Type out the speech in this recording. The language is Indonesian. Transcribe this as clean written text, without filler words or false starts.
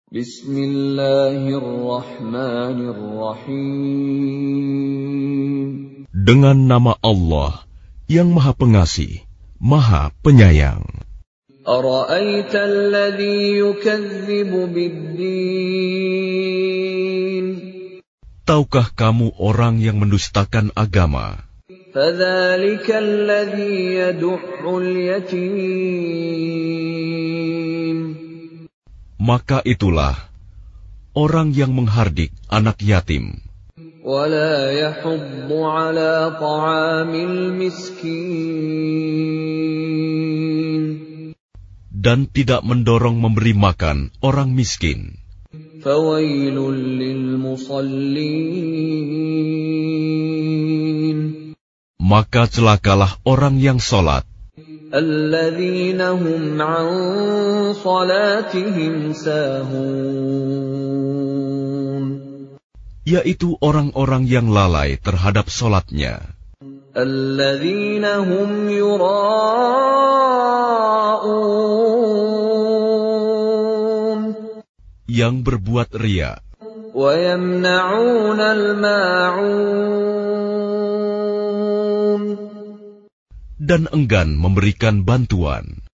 Bismillahirrahmanirrahim. Dengan nama Allah yang Maha Pengasih, Maha Penyayang. Ara'aita alladhi yukadzibu bid-din. Tahukah kamu orang yang mendustakan agama? Fadzalika alladhi yad'ul yatim. Maka itulah orang yang menghardik anak yatim. Wala yahuddu ala ta'amil miskin. Dan tidak mendorong memberi makan orang miskin. Fawailul lil musallin. Maka celakalah orang yang salat. Alladzina hum an salatihim sahun. Yaitu orang-orang yang lalai terhadap salatnya. Alladzina hum yura'un. Yang berbuat riya. Wa yamna'un al-ma'un. Dan enggan memberikan bantuan.